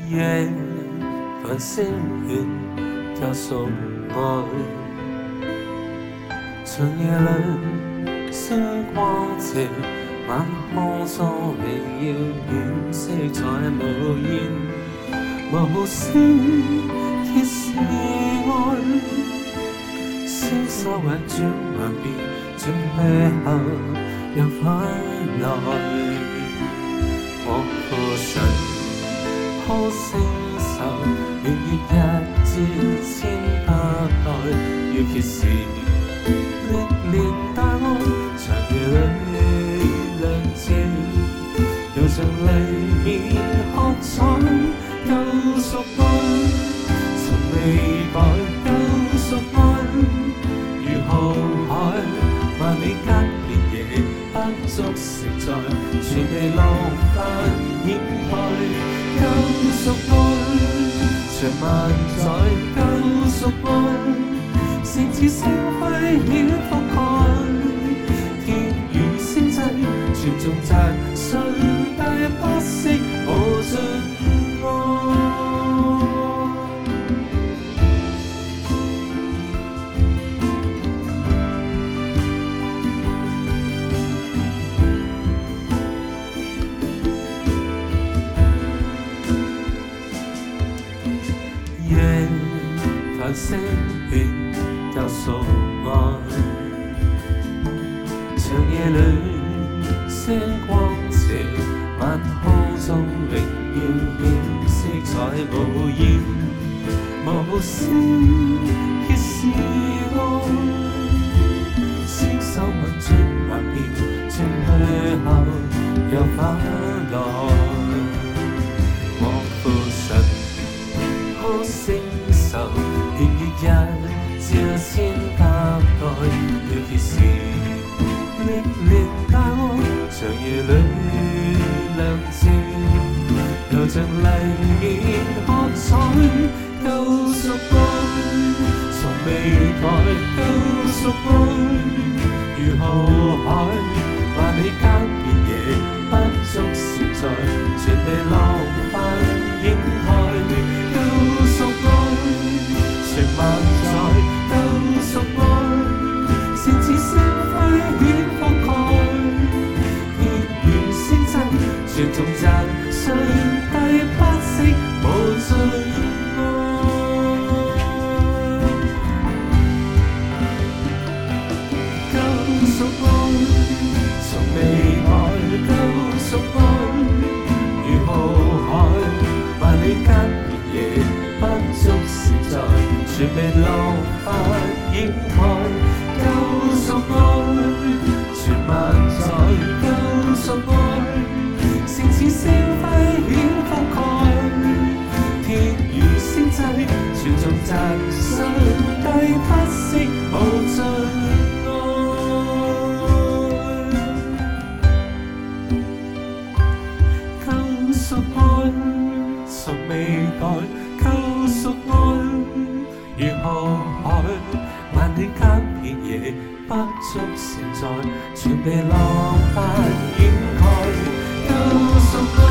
夜繁星愿交送爱，长夜里星光照，晚空中荣耀远色彩无言，无声揭示爱，星宿运转万变，转去后又返来。我父神可承受，月月日节千百代，要揭示历年大愛，長夜裏亮照，又像黎面喝彩，救贖愛，從未改，救贖愛，如浩海，萬里間連夜不足承載，全被浪漫掩蓋。救贖愛，長萬載，救贖愛，聖子星輝顯覆蓋，天與星際，全頌讚上帝不息無盡愛。夜繁星願交贖愛，長夜裏星光照，晚空中榮耀顯色彩無言，無聲揭示愛，星宿運轉幻變，轉去後又返來。我父神可承受，月月日照千百代，要揭示歷年大愛，長夜裏亮照，又像黎面喝彩，救贖愛，從未改，救贖愛，如浩海，萬里間遍野不足承載，全被浪漫掩蓋。萬載救贖愛，聖子星輝顯覆蓋，天與星際，全頌讚上帝不息無盡愛。救贖愛，從未改，救贖愛，如浩海，萬里間遍野不足承載。全被浪漫掩蓋，救贖愛，全萬載，救贖愛，聖子星輝顯覆蓋，天與星際，全頌讚上帝不息無盡愛。救贖愛，從未改，救贖愛。如浩海，萬里間遍野不足承載，全被浪漫掩蓋。救贖愛。